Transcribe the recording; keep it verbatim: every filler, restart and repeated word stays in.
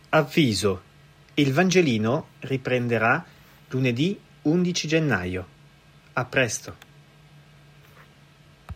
Avviso: il Vangelino riprenderà lunedì undici gennaio. A presto.